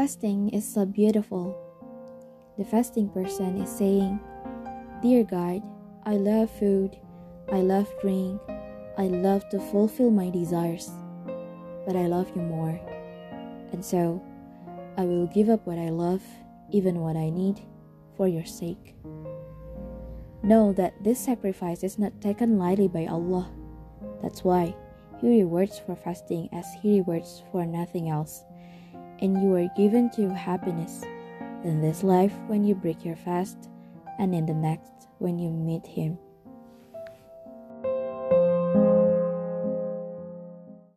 fasting is so beautiful. The fasting person is saying, "Dear God, I love food, I love drink, I love to fulfill my desires, but I love you more. And so, I will give up what I love, even what I need, for your sake." Know that this sacrifice is not taken lightly by Allah. That's why He rewards for fasting as He rewards for nothing else. And you are given to happiness in this life when you break your fast, and in the next when you meet Him.